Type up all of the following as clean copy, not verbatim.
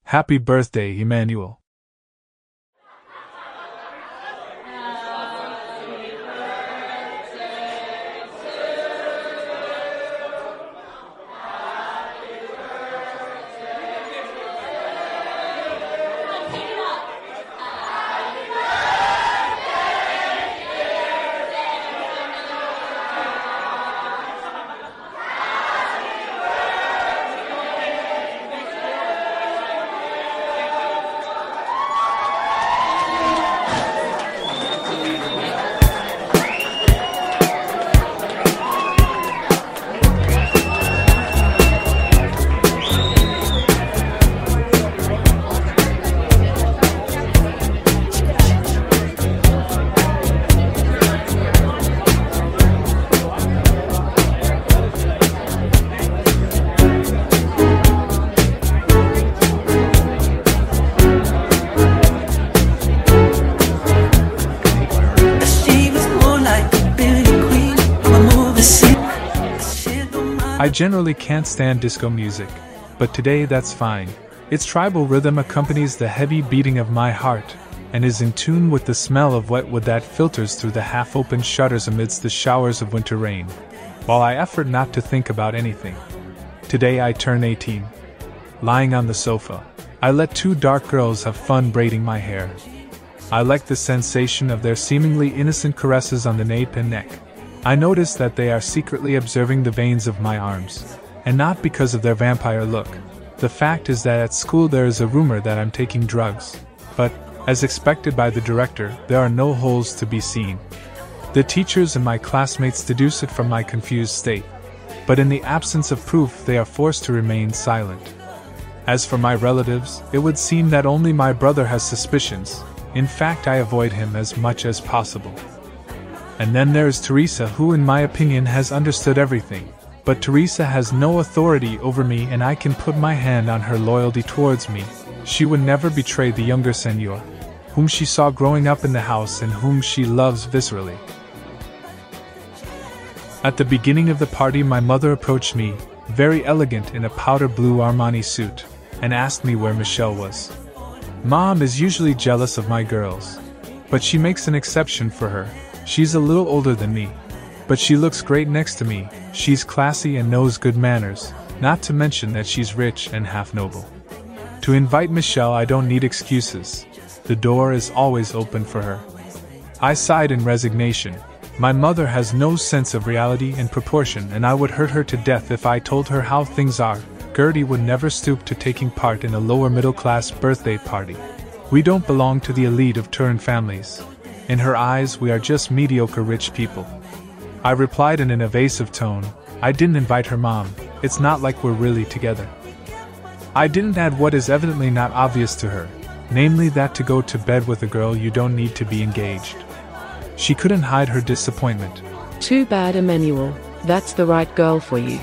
Happy birthday, Emmanuel. I generally can't stand disco music, but today that's fine. Its tribal rhythm accompanies the heavy beating of my heart, and is in tune with the smell of wet wood that filters through the half-open shutters amidst the showers of winter rain, while I effort not to think about anything. Today I turn 18. Lying on the sofa, I let two dark girls have fun braiding my hair. I like the sensation of their seemingly innocent caresses on the nape and neck. I notice that they are secretly observing the veins of my arms, and not because of their vampire look. The fact is that at school there is a rumor that I'm taking drugs, but, as expected by the director, there are no holes to be seen. The teachers and my classmates deduce it from my confused state, but in the absence of proof they are forced to remain silent. As for my relatives, it would seem that only my brother has suspicions. In fact, I avoid him as much as possible. And then there is Teresa, who in my opinion has understood everything. But Teresa has no authority over me, and I can put my hand on her loyalty towards me. She would never betray the younger Senor, whom she saw growing up in the house and whom she loves viscerally. At the beginning of the party, my mother approached me, very elegant in a powder blue Armani suit, and asked me where Michelle was. Mom is usually jealous of my girls, but she makes an exception for her. She's a little older than me, but she looks great next to me. She's classy and knows good manners, not to mention that she's rich and half noble. To invite Michelle, I don't need excuses. The door is always open for her. I sighed in resignation. My mother has no sense of reality and proportion, and I would hurt her to death if I told her how things are. Gertie would never stoop to taking part in a lower middle-class birthday party. We don't belong to the elite of Turin families. In her eyes, we are just mediocre rich people. I replied in an evasive tone, I didn't invite her, Mom. It's not like we're really together. I didn't add what is evidently not obvious to her, namely that to go to bed with a girl you don't need to be engaged. She couldn't hide her disappointment. Too bad, Emmanuel. That's the right girl for you.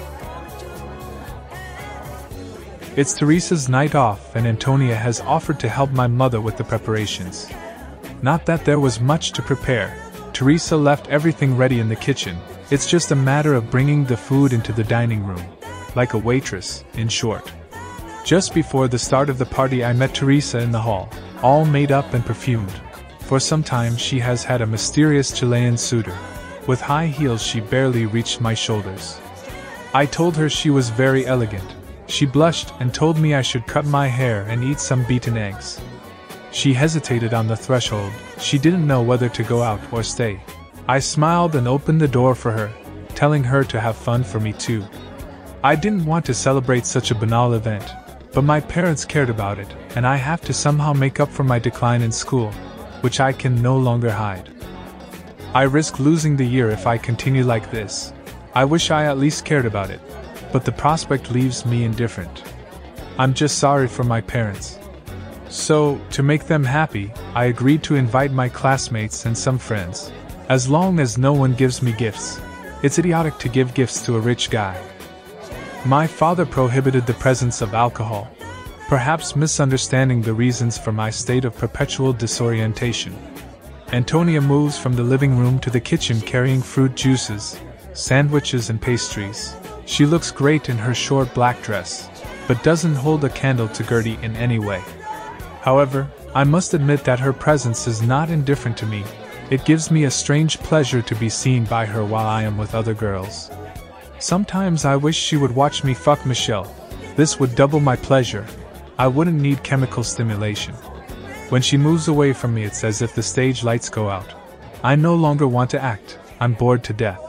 It's Teresa's night off, and Antonia has offered to help my mother with the preparations. Not that there was much to prepare. Teresa left everything ready in the kitchen. It's just a matter of bringing the food into the dining room. Like a waitress, in short. Just before the start of the party, I met Teresa in the hall, all made up and perfumed. For some time she has had a mysterious Chilean suitor. With high heels she barely reached my shoulders. I told her she was very elegant. She blushed and told me I should cut my hair and eat some beaten eggs. She hesitated on the threshold. She didn't know whether to go out or stay. I smiled and opened the door for her, telling her to have fun for me too. I didn't want to celebrate such a banal event, but my parents cared about it, and I have to somehow make up for my decline in school, which I can no longer hide. I risk losing the year if I continue like this. I wish I at least cared about it, but the prospect leaves me indifferent. I'm just sorry for my parents. So, to make them happy, I agreed to invite my classmates and some friends. As long as no one gives me gifts. It's idiotic to give gifts to a rich guy. My father prohibited the presence of alcohol, perhaps misunderstanding the reasons for my state of perpetual disorientation. Antonia moves from the living room to the kitchen carrying fruit juices, sandwiches and pastries. She looks great in her short black dress. but doesn't hold a candle to Gertie in any way. However, I must admit that her presence is not indifferent to me. It gives me a strange pleasure to be seen by her while I am with other girls. Sometimes I wish she would watch me fuck Michelle. This would double my pleasure. I wouldn't need chemical stimulation. When she moves away from me, it's as if the stage lights go out. I no longer want to act. I'm bored to death.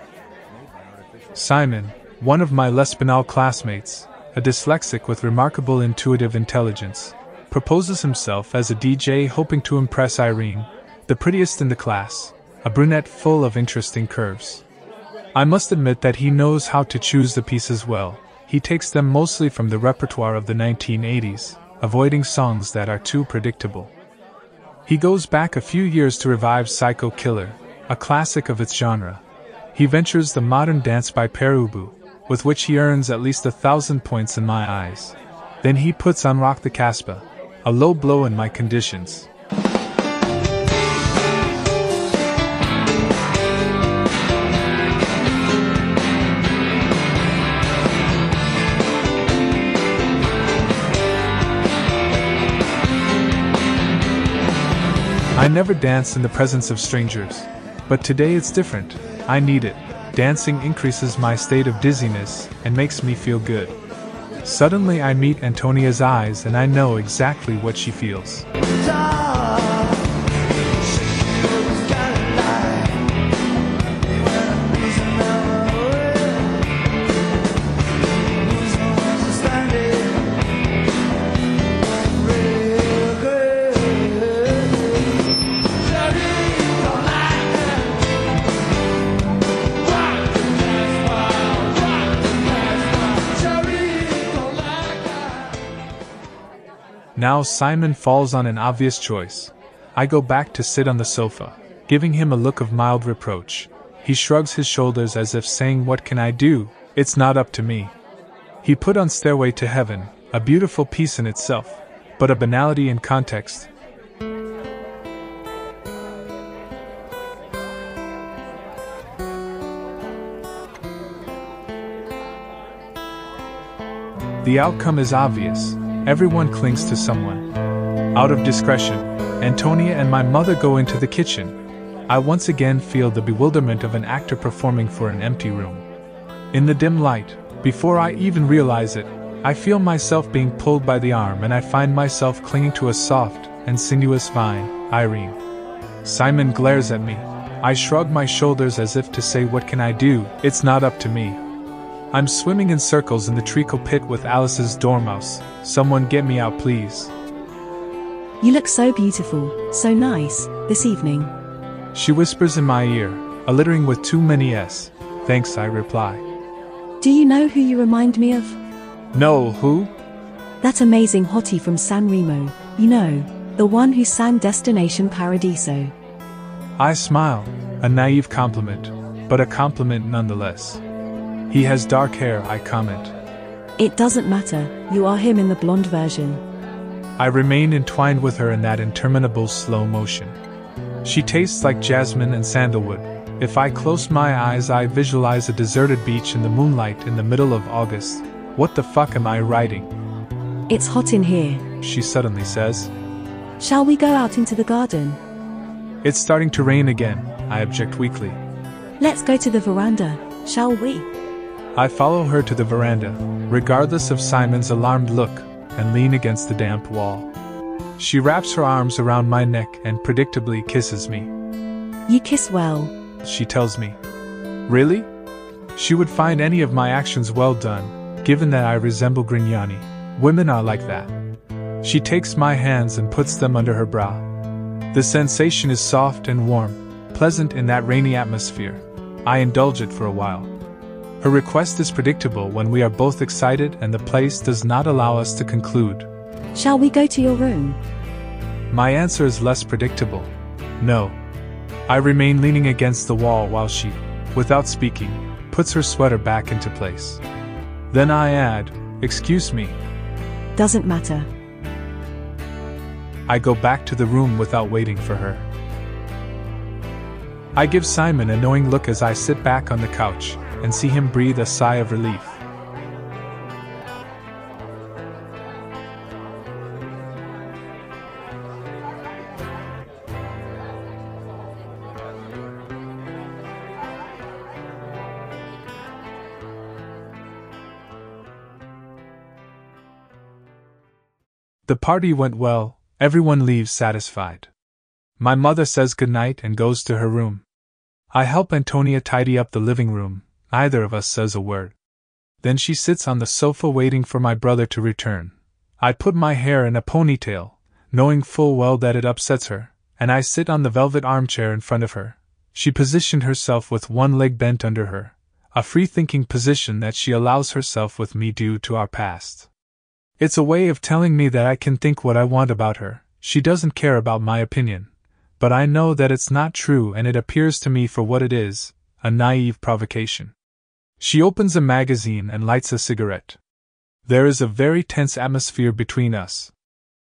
Simon, one of my less banal classmates, a dyslexic with remarkable intuitive intelligence, proposes himself as a DJ, hoping to impress Irene, the prettiest in the class, a brunette full of interesting curves. I must admit that he knows how to choose the pieces well. He takes them mostly from the repertoire of the 1980s, avoiding songs that are too predictable. He goes back a few years to revive Psycho Killer, a classic of its genre. He ventures the modern dance by Pere Ubu, with which he earns at least 1,000 points in my eyes. Then he puts on Rock the Casbah, a low blow in my conditions. I never dance in the presence of strangers, but today it's different. I need it. Dancing increases my state of dizziness and makes me feel good. Suddenly I meet Antonia's eyes and I know exactly what she feels. Now Simon falls on an obvious choice. I go back to sit on the sofa, giving him a look of mild reproach. He shrugs his shoulders as if saying, "What can I do? It's not up to me." He put on Stairway to Heaven, a beautiful piece in itself, but a banality in context. The outcome is obvious. Everyone clings to someone. Out of discretion, Antonia and my mother go into the kitchen. I once again feel the bewilderment of an actor performing for an empty room. In the dim light, before I even realize it, I feel myself being pulled by the arm and I find myself clinging to a soft and sinuous vine, Irene. Simon glares at me. I shrug my shoulders as if to say, "What can I do? It's not up to me." I'm swimming in circles in the treacle pit with Alice's dormouse. Someone get me out, please. You look so beautiful, so nice, this evening. She whispers in my ear, a littering with too many S. Thanks, I reply. Do you know who you remind me of? No, who? That amazing hottie from San Remo, you know, the one who sang Destination Paradiso. I smile, a naive compliment, but a compliment nonetheless. He has dark hair, I comment. It doesn't matter, you are him in the blonde version. I remain entwined with her in that interminable slow motion. She tastes like jasmine and sandalwood. If I close my eyes, I visualize a deserted beach in the moonlight in the middle of August. What the fuck am I writing? It's hot in here, she suddenly says. Shall we go out into the garden? It's starting to rain again, I object weakly. Let's go to the veranda, shall we? I follow her to the veranda, regardless of Simon's alarmed look, and lean against the damp wall. She wraps her arms around my neck and predictably kisses me. You kiss well, she tells me. Really? She would find any of my actions well done, given that I resemble Grignani. Women are like that. She takes my hands and puts them under her brow. The sensation is soft and warm, pleasant in that rainy atmosphere. I indulge it for a while. Her request is predictable when we are both excited and the place does not allow us to conclude. Shall we go to your room? My answer is less predictable. No. I remain leaning against the wall while she, without speaking, puts her sweater back into place. Then I add, "Excuse me." Doesn't matter. I go back to the room without waiting for her. I give Simon a knowing look as I sit back on the couch and see him breathe a sigh of relief. The party went well, everyone leaves satisfied. My mother says goodnight and goes to her room. I help Antonia tidy up the living room, neither of us says a word. Then she sits on the sofa waiting for my brother to return. I put my hair in a ponytail, knowing full well that it upsets her, and I sit on the velvet armchair in front of her. She positioned herself with one leg bent under her, a free-thinking position that she allows herself with me due to our past. It's a way of telling me that I can think what I want about her. She doesn't care about my opinion, but I know that it's not true, and it appears to me for what it is, a naive provocation. She opens a magazine and lights a cigarette. There is a very tense atmosphere between us.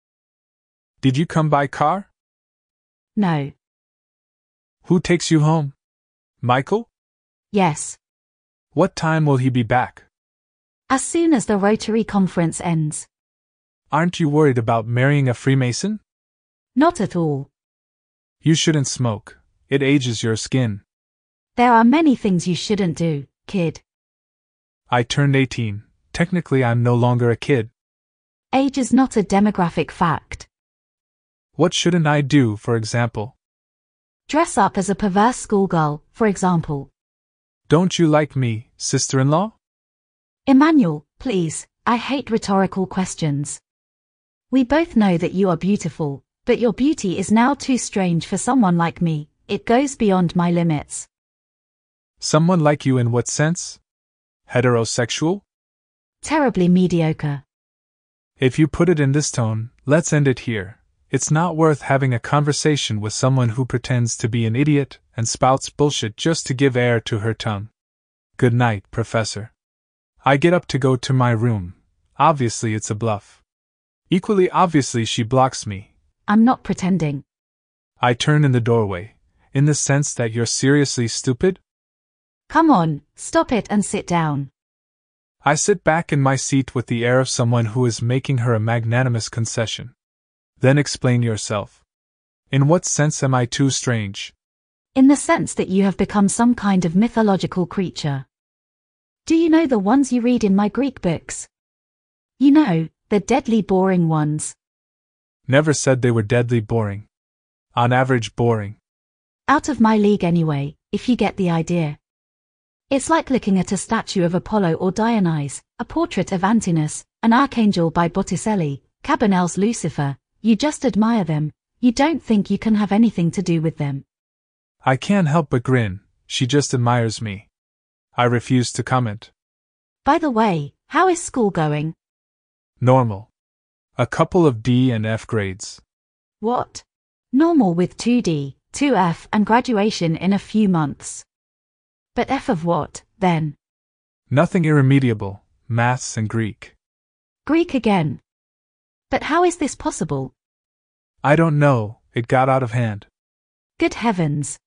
Did you come by car? No. Who takes you home? Michael? Yes. What time will he be back? As soon as the Rotary conference ends. Aren't you worried about marrying a Freemason? Not at all. You shouldn't smoke. It ages your skin. There are many things you shouldn't do, kid. I turned 18. Technically, I'm no longer a kid. Age is not a demographic fact. What shouldn't I do, for example? Dress up as a perverse schoolgirl, for example. Don't you like me, sister-in-law? Emmanuel, please, I hate rhetorical questions. We both know that you are beautiful, but your beauty is now too strange for someone like me. It goes beyond my limits. Someone like you in what sense? Heterosexual? Terribly mediocre. If you put it in this tone, let's end it here. It's not worth having a conversation with someone who pretends to be an idiot and spouts bullshit just to give air to her tongue. Good night, Professor. I get up to go to my room. Obviously it's a bluff. Equally obviously she blocks me. I'm not pretending. I turn in the doorway. In the sense that you're seriously stupid? Come on, stop it and sit down. I sit back in my seat with the air of someone who is making her a magnanimous concession. Then explain yourself. In what sense am I too strange? In the sense that you have become some kind of mythological creature. Do you know the ones you read in my Greek books? You know, the deadly boring ones. Never said they were deadly boring. On average boring. Out of my league anyway, if you get the idea. It's like looking at a statue of Apollo or Dionysus, a portrait of Antinous, an archangel by Botticelli, Cabanel's Lucifer. You just admire them. You don't think you can have anything to do with them. I can't help but grin. She just admires me. I refuse to comment. By the way, how is school going? Normal. A couple of D and F grades. What? Normal with 2D, 2F and graduation in a few months. But F of what, then? Nothing irremediable, maths and Greek. Greek again. But how is this possible? I don't know, it got out of hand. Good heavens.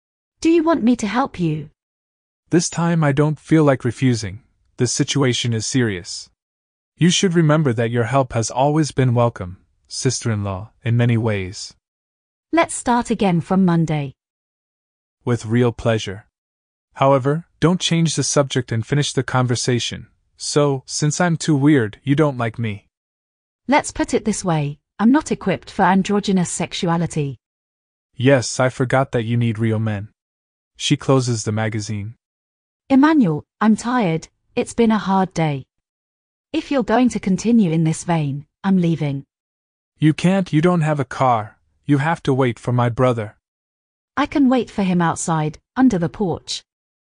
Do you want me to help you? This time I don't feel like refusing. The situation is serious. You should remember that your help has always been welcome, sister-in-law, in many ways. Let's start again from Monday. With real pleasure. However, don't change the subject and finish the conversation. So, since I'm too weird, you don't like me. Let's put it this way, I'm not equipped for androgynous sexuality. Yes, I forgot that you need real men. She closes the magazine. Emmanuel, I'm tired, it's been a hard day. If you're going to continue in this vein, I'm leaving. You can't, you don't have a car. You have to wait for my brother. I can wait for him outside, under the porch.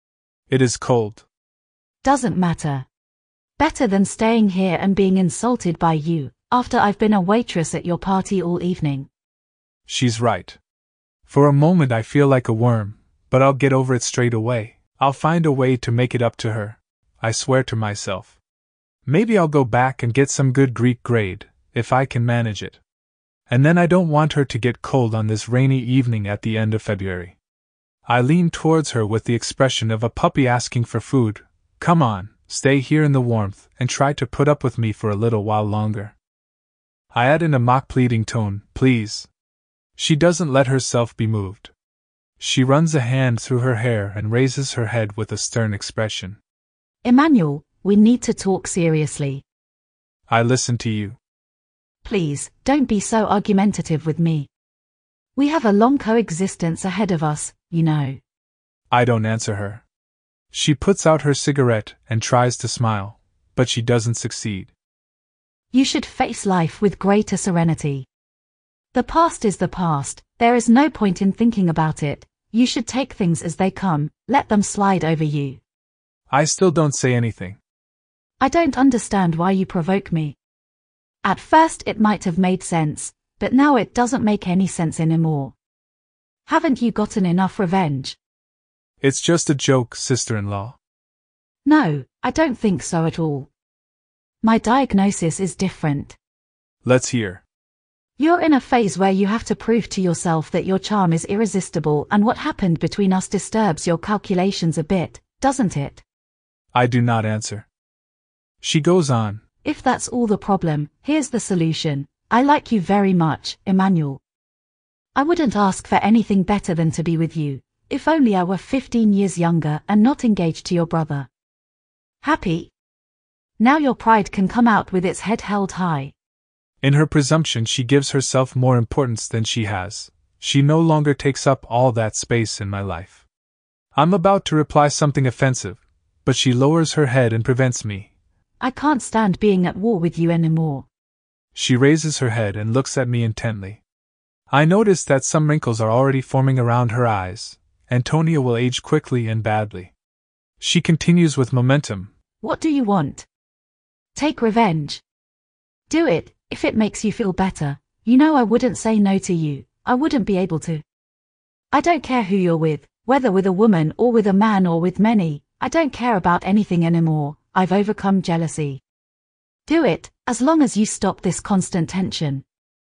It is cold. Doesn't matter. Better than staying here and being insulted by you, after I've been a waitress at your party all evening. She's right. For a moment I feel like a worm, but I'll get over it straight away. I'll find a way to make it up to her. I swear to myself. Maybe I'll go back and get some good Greek grade, if I can manage it. And then I don't want her to get cold on this rainy evening at the end of February. I lean towards her with the expression of a puppy asking for food. Come on, stay here in the warmth and try to put up with me for a little while longer. I add in a mock pleading tone, please. She doesn't let herself be moved. She runs a hand through her hair and raises her head with a stern expression. Emmanuel, we need to talk seriously. I listen to you. Please, don't be so argumentative with me. We have a long coexistence ahead of us, you know. I don't answer her. She puts out her cigarette and tries to smile, but she doesn't succeed. You should face life with greater serenity. The past is the past, there is no point in thinking about it. You should take things as they come, let them slide over you. I still don't say anything. I don't understand why you provoke me. At first it might have made sense, but now it doesn't make any sense anymore. Haven't you gotten enough revenge? It's just a joke, sister-in-law. No, I don't think so at all. My diagnosis is different. Let's hear. You're in a phase where you have to prove to yourself that your charm is irresistible, and what happened between us disturbs your calculations a bit, doesn't it? I do not answer. She goes on. If that's all the problem, here's the solution. I like you very much, Emmanuel. I wouldn't ask for anything better than to be with you, if only I were 15 years younger and not engaged to your brother. Happy? Now your pride can come out with its head held high. In her presumption, she gives herself more importance than she has. She no longer takes up all that space in my life. I'm about to reply something offensive, but she lowers her head and prevents me. I can't stand being at war with you anymore. She raises her head and looks at me intently. I notice that some wrinkles are already forming around her eyes. Antonia will age quickly and badly. She continues with momentum. What do you want? Take revenge. Do it, if it makes you feel better. You know I wouldn't say no to you. I wouldn't be able to. I don't care who you're with, whether with a woman or with a man or with many. I don't care about anything anymore. I've overcome jealousy. Do it, as long as you stop this constant tension.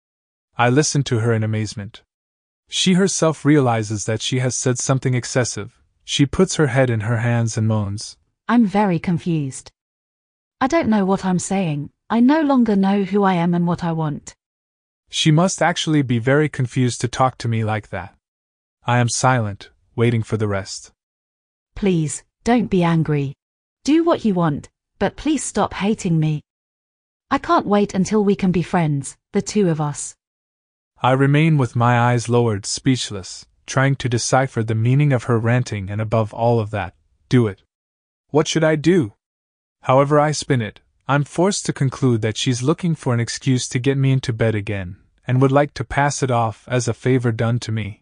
I listen to her in amazement. She herself realizes that she has said something excessive. She puts her head in her hands and moans. I'm very confused. I don't know what I'm saying. I no longer know who I am and what I want. She must actually be very confused to talk to me like that. I am silent, waiting for the rest. Please, don't be angry. Do what you want, but please stop hating me. I can't wait until we can be friends, the two of us. I remain with my eyes lowered, speechless, trying to decipher the meaning of her ranting, and above all of that, do it. What should I do? However I spin it, I'm forced to conclude that she's looking for an excuse to get me into bed again, and would like to pass it off as a favor done to me.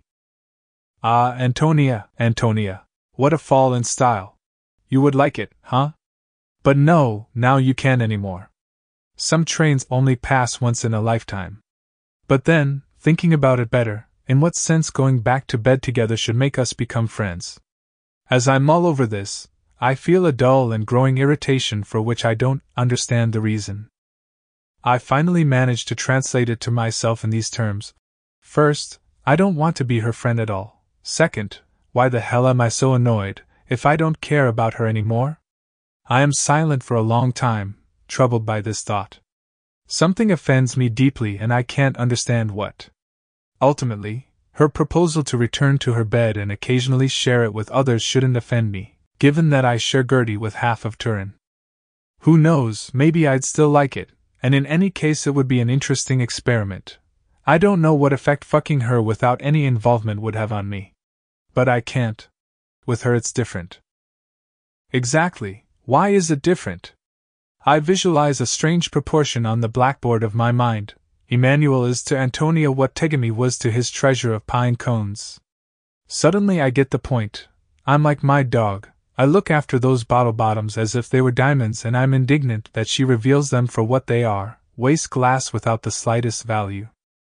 Ah, Antonia, what a fall in style. You would like it, huh? But no, now you can't anymore. Some trains only pass once in a lifetime. But then, thinking about it better, in what sense going back to bed together should make us become friends? As I mull over this, I feel a dull and growing irritation for which I don't understand the reason. I finally manage to translate it to myself in these terms. First, I don't want to be her friend at all. Second, why the hell am I so annoyed if I don't care about her anymore? I am silent for a long time, troubled by this thought. Something offends me deeply and I can't understand what. Ultimately, her proposal to return to her bed and occasionally share it with others shouldn't offend me, given that I share Gertie with half of Turin. Who knows, maybe I'd still like it, and in any case it would be an interesting experiment. I don't know what effect fucking her without any involvement would have on me. But I can't. With her it's different. Exactly, why is it different? I visualize a strange proportion on the blackboard of my mind. Emmanuel is to Antonia what Tegami was to his treasure of pine cones. Suddenly I get the point. I'm like my dog. I look after those bottle bottoms as if they were diamonds, and I'm indignant that she reveals them for what they are, waste glass without the slightest value.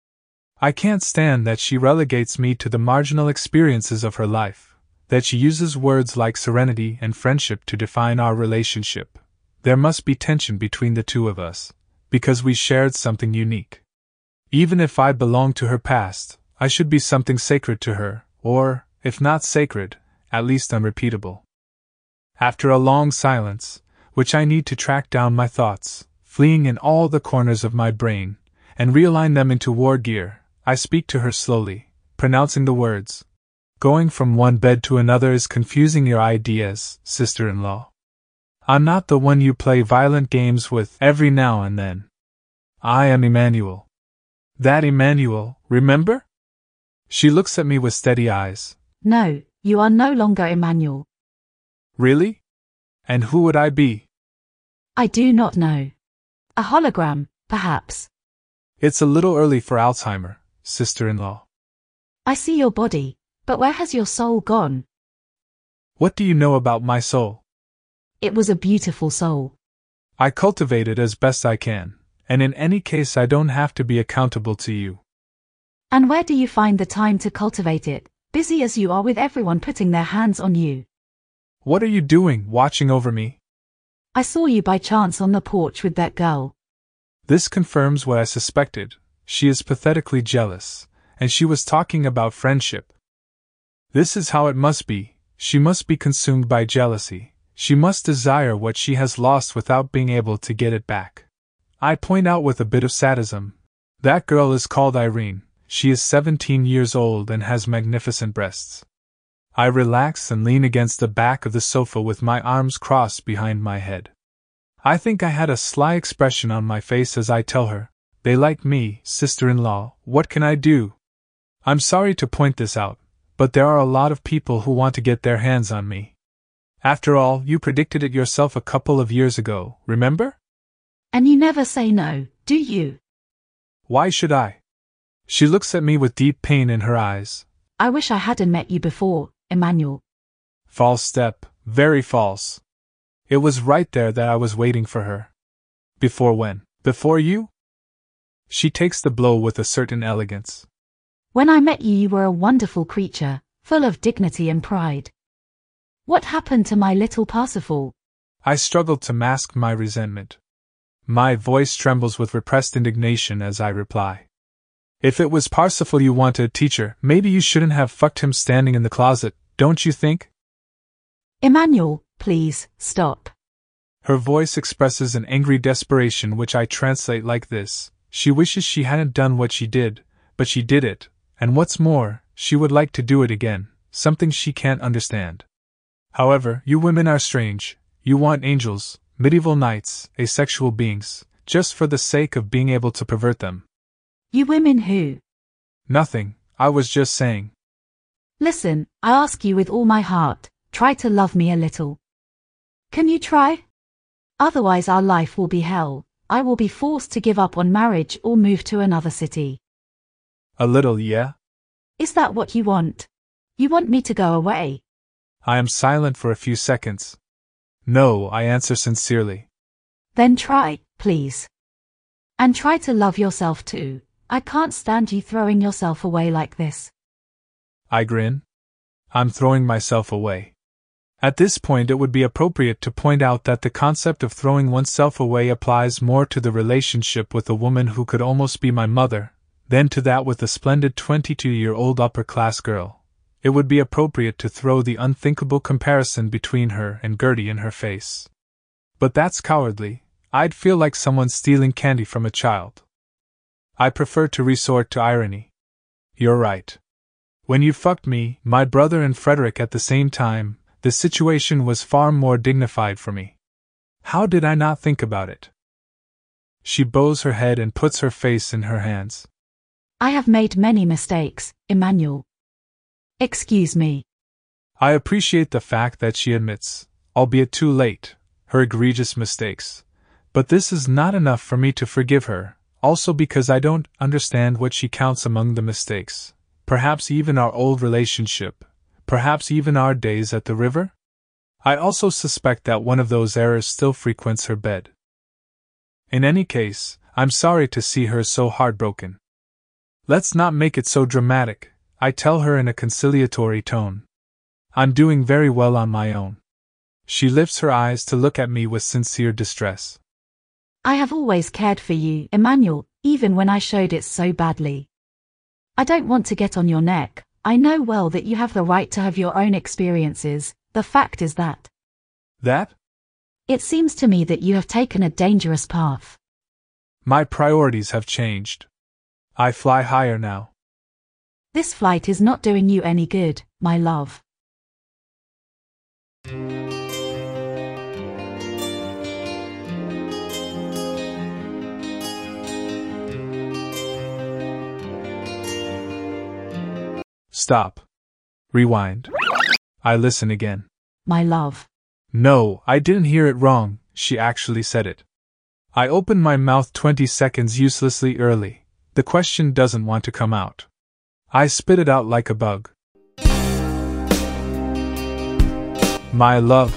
I can't stand that she relegates me to the marginal experiences of her life, that she uses words like serenity and friendship to define our relationship. There must be tension between the two of us, because we shared something unique. Even if I belong to her past, I should be something sacred to her, or, if not sacred, at least unrepeatable. After a long silence, which I need to track down my thoughts, fleeing in all the corners of my brain, and realign them into war gear, I speak to her slowly, pronouncing the words. Going from one bed to another is confusing your ideas, sister-in-law. I'm not the one you play violent games with every now and then. I am Emmanuel. That Emmanuel, remember? She looks at me with steady eyes. No, you are no longer Emmanuel. Really? And who would I be? I do not know. A hologram, perhaps. It's a little early for Alzheimer, sister-in-law. I see your body, but where has your soul gone? What do you know about my soul? It was a beautiful soul. I cultivate it as best I can, and in any case I don't have to be accountable to you. And where do you find the time to cultivate it, busy as you are with everyone putting their hands on you? What are you doing, watching over me? I saw you by chance on the porch with that girl. This confirms what I suspected. She is pathetically jealous, and she was talking about friendship. This is how it must be. She must be consumed by jealousy. She must desire what she has lost without being able to get it back. I point out with a bit of sadism. That girl is called Irene. She is 17 years old and has magnificent breasts. I relax and lean against the back of the sofa with my arms crossed behind my head. I think I had a sly expression on my face as I tell her, "They like me, sister-in-law, what can I do?" I'm sorry to point this out, but there are a lot of people who want to get their hands on me. After all, you predicted it yourself a couple of years ago, remember? And you never say no, do you? Why should I? She looks at me with deep pain in her eyes. I wish I hadn't met you before, Emmanuel. False step, very false. It was right there that I was waiting for her. Before when? Before you? She takes the blow with a certain elegance. When I met you, you were a wonderful creature, full of dignity and pride. What happened to my little Parsifal? I struggled to mask my resentment. My voice trembles with repressed indignation as I reply. If it was Parsifal you wanted, teacher, maybe you shouldn't have fucked him standing in the closet, don't you think? Emmanuel, please, stop. Her voice expresses an angry desperation which I translate like this. She wishes she hadn't done what she did, but she did it, and what's more, she would like to do it again, something she can't understand. However, you women are strange. You want angels, medieval knights, asexual beings, just for the sake of being able to pervert them. You women who? Nothing, I was just saying. Listen, I ask you with all my heart, try to love me a little. Can you try? Otherwise our life will be hell. I will be forced to give up on marriage or move to another city. A little, yeah? Is that what you want? You want me to go away? I am silent for a few seconds. No, I answer sincerely. Then try, please. And try to love yourself too. I can't stand you throwing yourself away like this. I grin. I'm throwing myself away. At this point, it would be appropriate to point out that the concept of throwing oneself away applies more to the relationship with a woman who could almost be my mother, than to that with a splendid 22-year-old upper-class girl. It would be appropriate to throw the unthinkable comparison between her and Gertie in her face. But that's cowardly. I'd feel like someone stealing candy from a child. I prefer to resort to irony. You're right. When you fucked me, my brother and Frederick at the same time, the situation was far more dignified for me. How did I not think about it? She bows her head and puts her face in her hands. I have made many mistakes, Emmanuel. Excuse me. I appreciate the fact that she admits, albeit too late, her egregious mistakes. But this is not enough for me to forgive her, also because I don't understand what she counts among the mistakes. Perhaps even our old relationship, perhaps even our days at the river? I also suspect that one of those errors still frequents her bed. In any case, I'm sorry to see her so heartbroken. Let's not make it so dramatic, I tell her in a conciliatory tone. I'm doing very well on my own. She lifts her eyes to look at me with sincere distress. I have always cared for you, Emmanuel, even when I showed it so badly. I don't want to get on your neck. I know well that you have the right to have your own experiences. The fact is that. That? It seems to me that you have taken a dangerous path. My priorities have changed. I fly higher now. This flight is not doing you any good, my love. Stop. Rewind. I listen again. My love. No, I didn't hear it wrong, she actually said it. I opened my mouth 20 seconds uselessly early. The question doesn't want to come out. I spit it out like a bug. My love.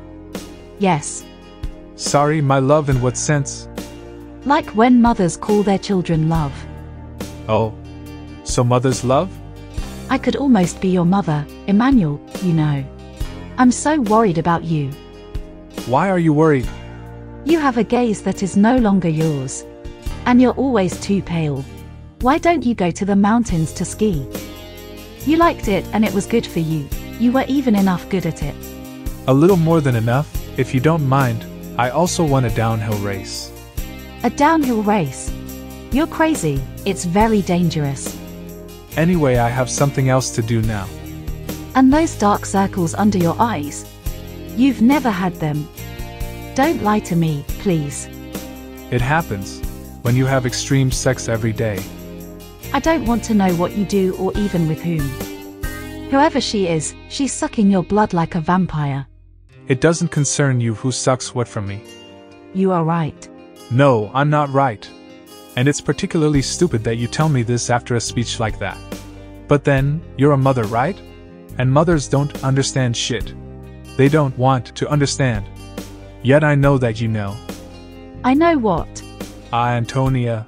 Yes. Sorry, my love, in what sense? Like when mothers call their children love. Oh. So mothers love? I could almost be your mother, Emmanuel, you know. I'm so worried about you. Why are you worried? You have a gaze that is no longer yours. And you're always too pale. Why don't you go to the mountains to ski? You liked it and it was good for you. You were even enough good at it. A little more than enough, if you don't mind. I also won a downhill race. A downhill race? You're crazy. It's very dangerous. Anyway, I have something else to do now. And those dark circles under your eyes? You've never had them. Don't lie to me, please. It happens when you have extreme sex every day. I don't want to know what you do or even with whom. Whoever she is, she's sucking your blood like a vampire. It doesn't concern you who sucks what from me. You are right. No, I'm not right. And it's particularly stupid that you tell me this after a speech like that. But then, you're a mother, right? And mothers don't understand shit. They don't want to understand. Yet I know that you know. I know what? Antonia.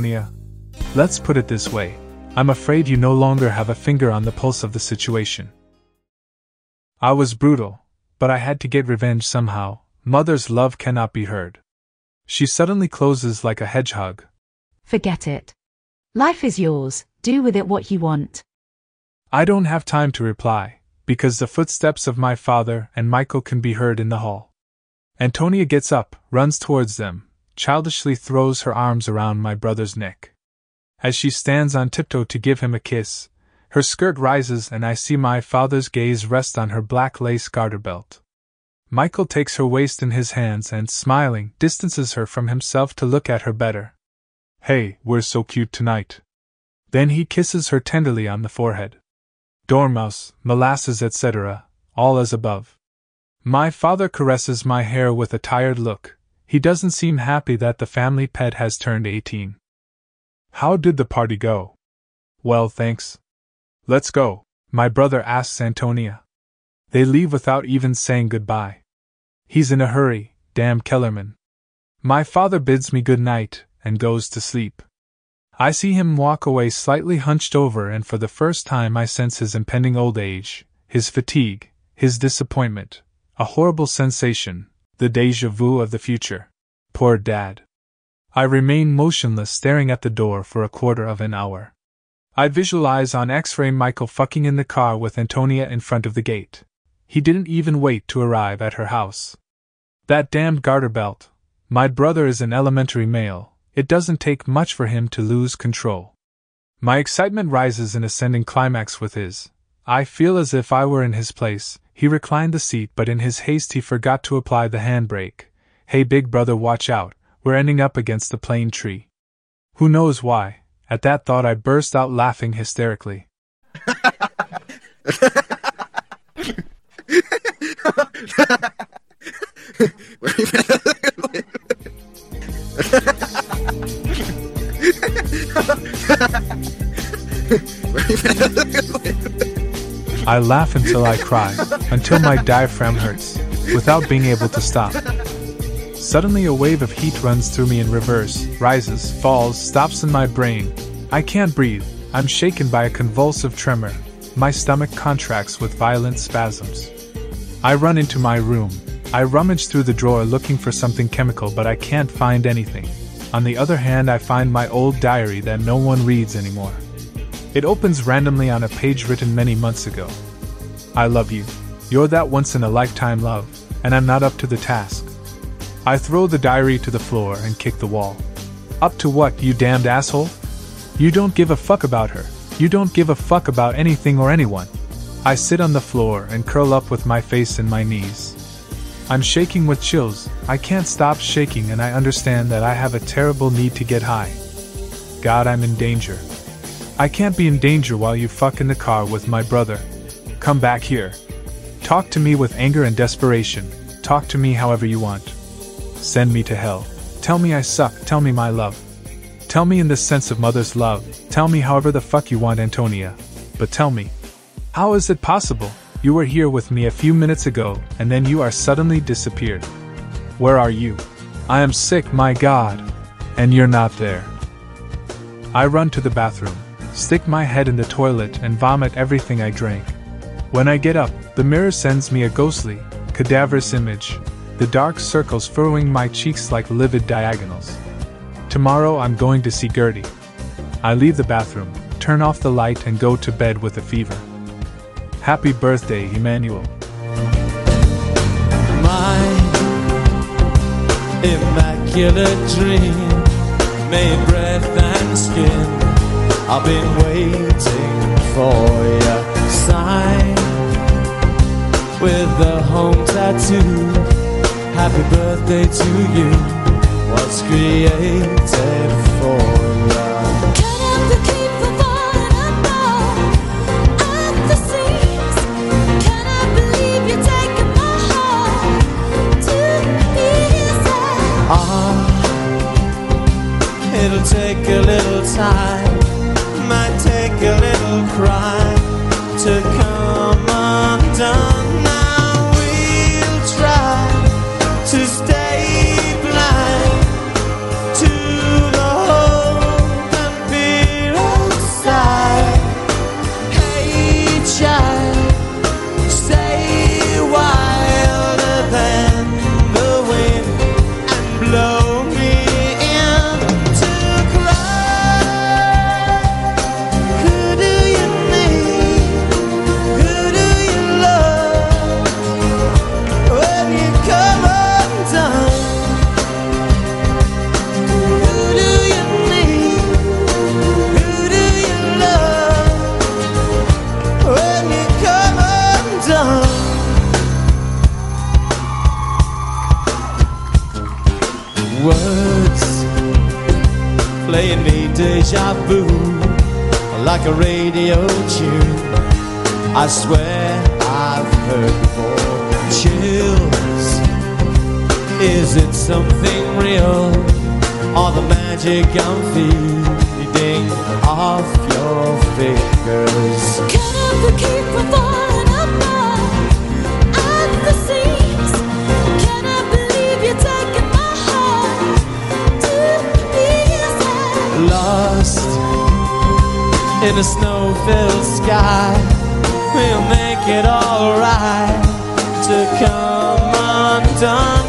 Let's put it this way. I'm afraid you no longer have a finger on the pulse of the situation. I was brutal, but I had to get revenge somehow. Mother's love cannot be heard. She suddenly closes like a hedgehog. Forget it. Life is yours, do with it what you want. I don't have time to reply, because the footsteps of my father and Michael can be heard in the hall. Antonia gets up, runs towards them, childishly throws her arms around my brother's neck. As she stands on tiptoe to give him a kiss, her skirt rises and I see my father's gaze rest on her black lace garter belt. Michael takes her waist in his hands and, smiling, distances her from himself to look at her better. Hey, we're so cute tonight. Then he kisses her tenderly on the forehead. Dormouse, molasses, etc., all as above. My father caresses my hair with a tired look. He doesn't seem happy that the family pet has turned 18. How did the party go? Well, thanks. Let's go, my brother asks Antonia. They leave without even saying goodbye. He's in a hurry, damn Kellerman. My father bids me good night and goes to sleep. I see him walk away slightly hunched over, and for the first time I sense his impending old age, his fatigue, his disappointment, a horrible sensation, the déjà vu of the future. Poor Dad. I remain motionless, staring at the door for a quarter of an hour. I visualize on X-ray Michael fucking in the car with Antonia in front of the gate. He didn't even wait to arrive at her house. That damned garter belt. My brother is an elementary male. It doesn't take much for him to lose control. My excitement rises in ascending climax with his. I feel as if I were in his place. He reclined the seat, but in his haste he forgot to apply the handbrake. Hey big brother, watch out, we're ending up against the plane tree. Who knows why? At that thought I burst out laughing hysterically. I laugh until I cry, until my diaphragm hurts, without being able to stop. Suddenly a wave of heat runs through me in reverse, rises, falls, stops in my brain. I can't breathe. I'm shaken by a convulsive tremor. My stomach contracts with violent spasms. I run into my room. I rummage through the drawer looking for something chemical, but I can't find anything. On the other hand, I find my old diary that no one reads anymore. It opens randomly on a page written many months ago. I love you. You're that once-in-a-lifetime love, and I'm not up to the task. I throw the diary to the floor and kick the wall. Up to what, you damned asshole? You don't give a fuck about her. You don't give a fuck about anything or anyone. I sit on the floor and curl up with my face in my knees. I'm shaking with chills. I can't stop shaking, and I understand that I have a terrible need to get high. God, I'm in danger. I can't be in danger while you fuck in the car with my brother. Come back here. Talk to me with anger and desperation. Talk to me however you want. Send me to hell. Tell me I suck. Tell me my love. Tell me in the sense of mother's love. Tell me however the fuck you want, Antonia. But tell me, how is it possible? You were here with me a few minutes ago, and then you are suddenly disappeared. Where are you? I am sick, my God. And you're not there. I run to the bathroom, stick my head in the toilet and vomit everything I drank. When I get up, the mirror sends me a ghostly, cadaverous image, the dark circles furrowing my cheeks like livid diagonals. Tomorrow I'm going to see Gertie. I leave the bathroom, turn off the light and go to bed with a fever. Happy birthday, Emmanuel. My immaculate dream, made breath and skin. I've been waiting for your sign with the home tattoo. Happy birthday to you, was created for you. It'll take a little time, might take a little cry to come undone. Now we'll try to stay blind to the hope and fear outside. Hey child, stay wilder than the wind and blow me in to cry. Who do you need? Who do you love? When you come undone, who do you need? Who do you love? When you come undone. Words playing me deja vu like a radio tune. I swear I've heard before. Chills, is it something real or the magic I'm feeding off your fingers? Can I keep from falling apart at the seams? Can I believe you're taking my heart to pieces? Lost in a snow-filled sky, we'll make it alright to come undone.